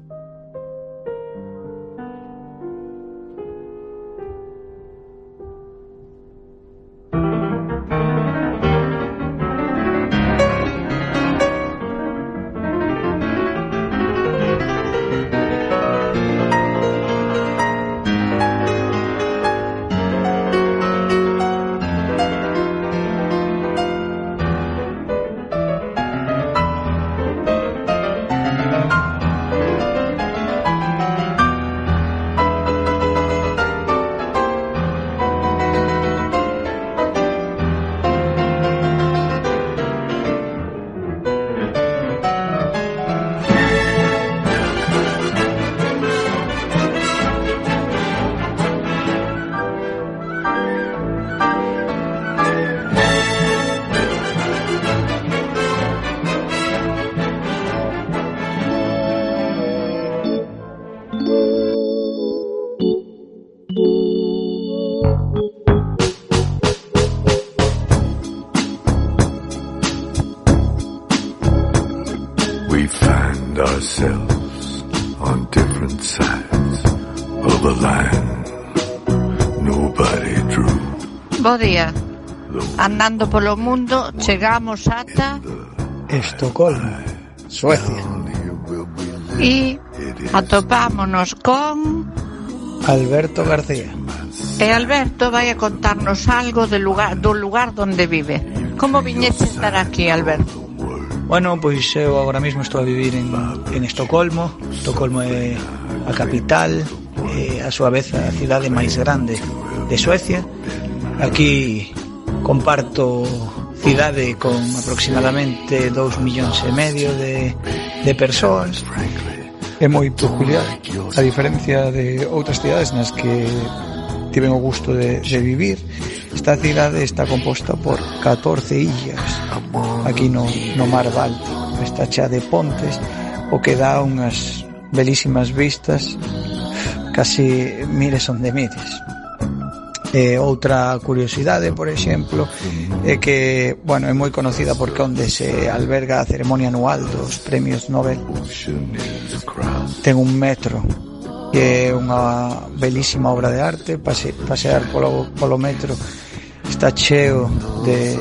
ourselves on different sides of a line nobody drew. Bo día. Andando polo mundo chegamos ata Estocolmo, Suecia. E atopámonos con Alberto García. E Alberto vai a contarnos algo do lugar donde vive. Como viñeche estar aquí, Alberto? Bueno, pois eu agora mesmo estou a vivir en Estocolmo. Estocolmo é a capital, é a súa vez a cidade máis grande de Suecia. Aquí comparto cidade con aproximadamente 2,5 millóns de persoas. É moi peculiar, a diferencia de outras cidades nas que tiven o gusto de vivir. Esta cidade está composta por 14 illas aquí no mar Báltico. Está chea de pontes, o que dá unhas belísimas vistas, casi mires onde mires. Outra curiosidade, por exemplo, é que, bueno, é moi conocida porque onde se alberga a ceremonia anual dos premios Nobel. Ten un metro, que é unha belísima obra de arte. Pasear polo metro está cheo de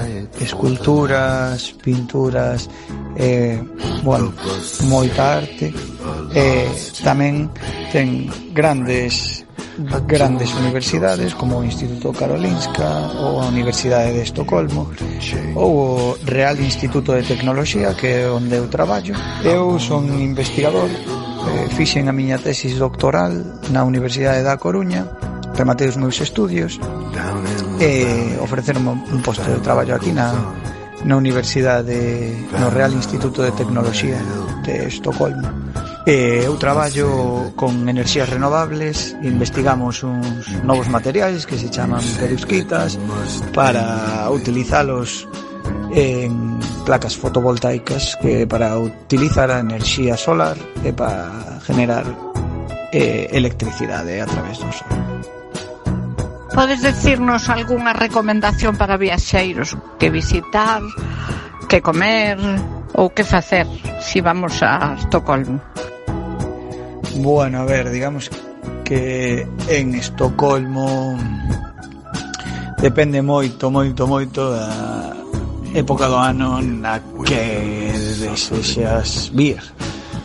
esculturas, pinturas, bueno, moita arte. Tamén ten grandes universidades como o Instituto Karolinska ou a Universidade de Estocolmo ou o Real Instituto de Tecnoloxía, que é onde eu traballo. Eu son investigador, fixen a miña tesis doctoral na Universidade da Coruña, rematei os meus estudios e ofreceronme un posto de traballo aquí na Universidade, no Real Instituto de Tecnoloxía de Estocolmo. Eu traballo con enerxías renovables, investigamos uns novos materiais que se chaman perovskitas para utilizalos en placas fotovoltaicas, que para utilizar a enerxía solar e para generar electricidade a través do sol. Podes decirnos algunha recomendación para viaxeiros? Que visitar, que comer ou que facer se vamos a Estocolmo? Bueno, a ver, digamos que en Estocolmo depende moito da época do ano na que desexas vir,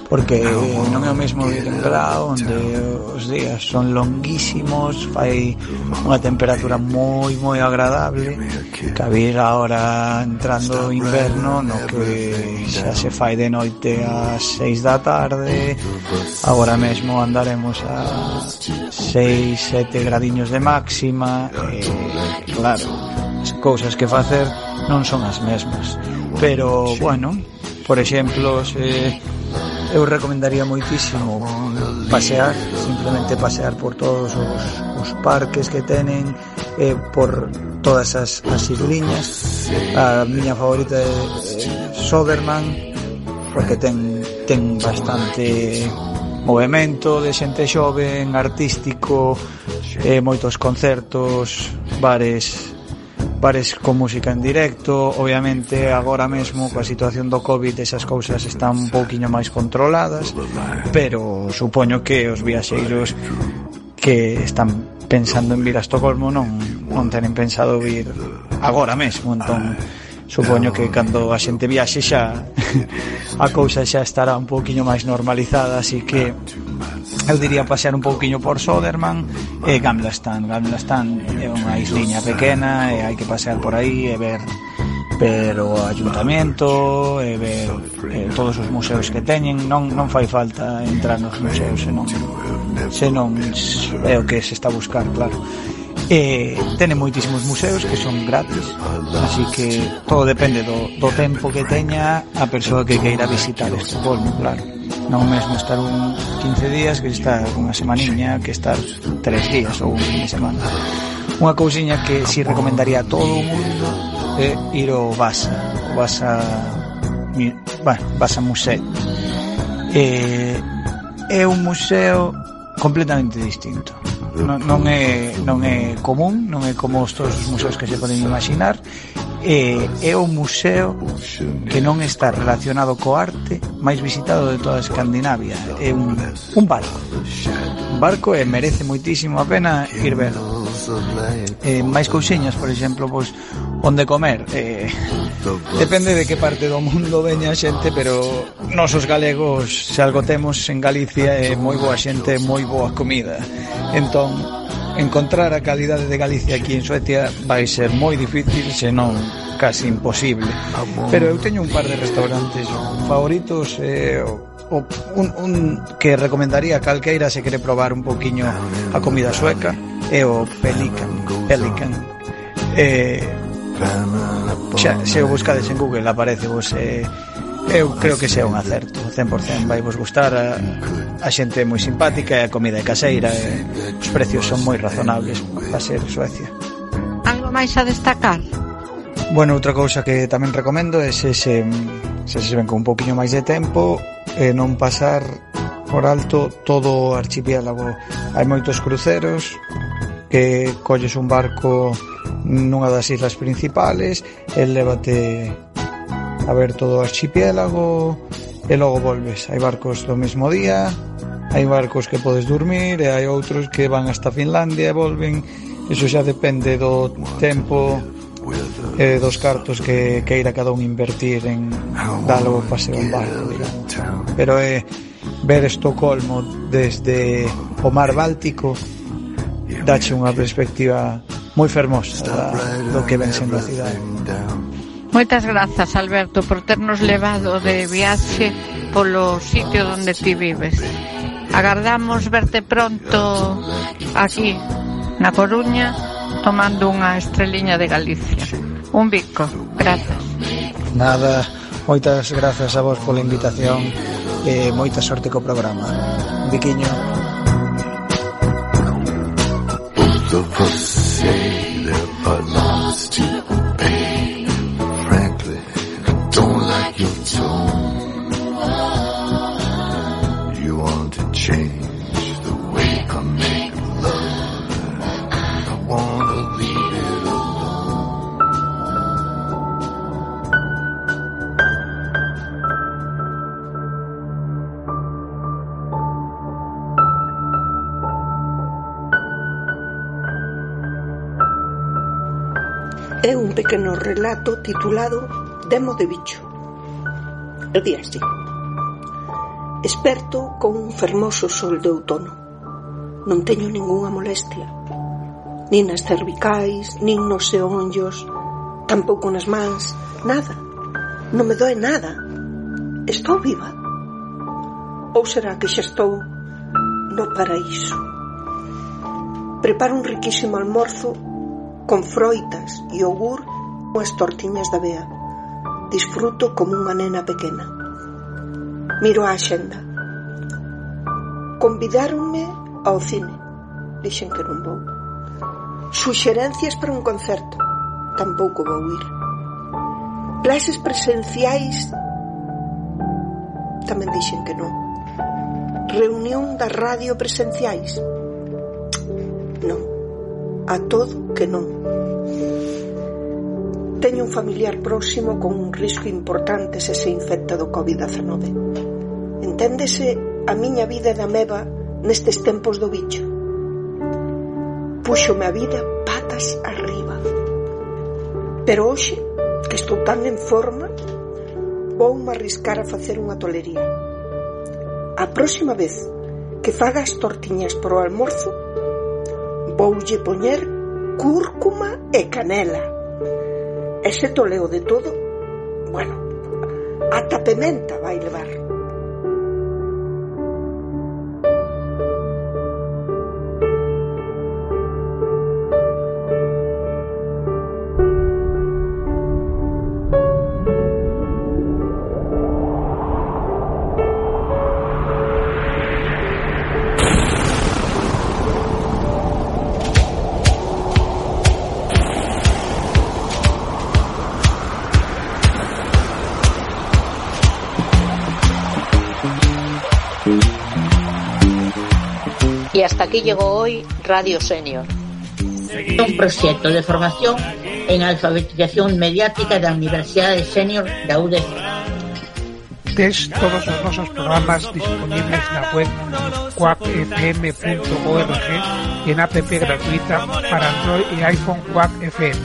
porque non é o mesmo vir en Grao, onde os días son longuísimos, fai unha temperatura moi agradable, que a vir agora entrando inverno, no que xa se fai de noite ás 6 da tarde. Agora mesmo andaremos a 6-7 gradiños de máxima, claro, as cousas que facer non son as mesmas, pero bueno, por exemplo, eu recomendaría moitísimo pasear, simplemente pasear por todos os parques que tenen, por todas as isliñas. A miña favorita é Söderman, porque ten bastante movemento de xente xoven, artístico, moitos concertos, bares con música en directo. Obviamente agora mesmo coa situación do Covid esas cousas están un pouquiño máis controladas, pero supoño que os viaxeiros que están pensando en vir a Estocolmo non tenen pensado vir agora mesmo, entón supoño que cando a xente viaxe xa a cousa xa estará un pouquiño máis normalizada, así que eu diría pasear un pouquiño por Söderman e Gamla Stan é unha isliña pequena e hai que pasear por aí e ver o ayuntamiento e ver todos os museos que teñen. Non fai falta entrar nos museos senón é o que se está a buscar, claro. Tenen moitísimos museos que son gratis, así que todo depende do tempo que teña a persoa que queira visitar Estocolmo, claro. Non mesmo estar 15 días que estar unha semaniña, que estar 3 días ou un fin de semana. Unha cousiña que si recomendaría a todo o mundo é ir ao Vasa Museo. É un museo completamente distinto. Non é común, non é como todos os museos que se poden imaginar. É un museo que non está relacionado co arte máis visitado de toda Escandinavia. É un barco e merece moitísimo a pena ir ver. Máis cousiñas, por exemplo, pois onde comer. Depende de que parte do mundo veña a xente, pero nós os galegos, se algo temos en Galicia, é moi boa xente, moi boa comida. Entón, encontrar a calidade de Galicia aquí en Suecia vai ser moi difícil, senón casi imposible. Pero eu teño un par de restaurantes favoritos, un que recomendaría a calqueira se quere probar un poquiño a comida sueca é o Pelican. Se o buscades en Google aparece vos. Eu creo que sea un acerto 100%, vai vos gustar. A xente é moi simpática e a comida é caseira e os precios son moi razonables para ser Suecia. Algo máis a destacar? Bueno, outra cousa que tamén recomendo é se ven con un poquinho máis de tempo non pasar por alto todo o archipiélago. Hai moitos cruceros que colles un barco nunha das islas principales e lévate a ver todo o archipiélago e logo volves. Hai barcos do mesmo día, hai barcos que podes dormir e hai outros que van hasta Finlandia e volven. Iso xa depende do tempo e dos cartos que queira cada un invertir en dar o paseo en barco, digamos. Pero ver Estocolmo desde o mar Báltico dache unha perspectiva moi fermosa do que ven sendo a cidade. Moitas grazas, Alberto, por ternos levado de viaxe polo sitio onde ti vives. Agardamos verte pronto aquí na Coruña tomando unha estreliña de Galicia. Un bico, grazas. Nada, moitas grazas a vos pola invitación e moita sorte co programa. Un biquiño. Both of us say there are lots to pay. Frankly, I don't like your tone. You want to change the way I make love. I want to leave it alone. É un pequeno relato titulado Demo de bicho. Eu di así. Esperto con un fermoso sol de outono. Non teño ningunha molestia, nin nas cervicais, nin nos xeonllos, tampouco nas mans, nada. Non me doe nada. Estou viva. Ou será que xa estou no paraíso? Preparo un riquísimo almorzo con froitas, iogur ou as tortiñas da Bea. Disfruto como unha nena pequena. Miro a axenda. Convidáronme ao cine. Dixen que non vou. Suxerencias para un concerto. Tampouco vou ir. Clases presenciais. Tamén dixen que non. Reunión da radio presenciais. Non. A todo que non. Teño un familiar próximo con un risco importante se se infecta do COVID-19. Enténdese a miña vida de ameba nestes tempos do bicho. Púxome a vida patas arriba. Pero hoxe, que estou tan en forma, voume arriscar a facer unha tolería. A próxima vez que faga as tortiñas para o almorzo, voulle poñer cúrcuma e canela. Ese toleo de todo, bueno, ata pementa vai levar. Y hasta aquí llegó hoy Radio Senior. Un proxecto de formación en alfabetización mediática da Universidade Senior da UDC. Tes todos os nosos programas disponibles na web quackfm.org e en app gratuita para Android e iPhone Quack FM.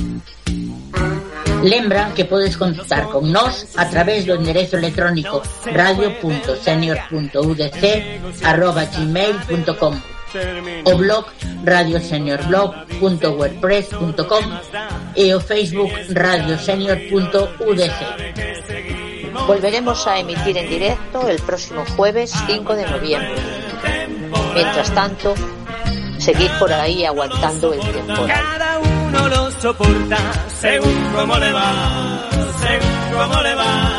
Lembra que podes contactar con nós a través do enderezo electrónico radio.senior.udc@gmail.com, o blog radioseniorblog.wordpress.com e o Facebook radiosenior.udc. Volveremos a emitir en directo el próximo jueves 5 de noviembre. Mientras tanto, seguid por ahí aguantando el temporal. Cada uno lo soporta según cómo le va, según cómo le va.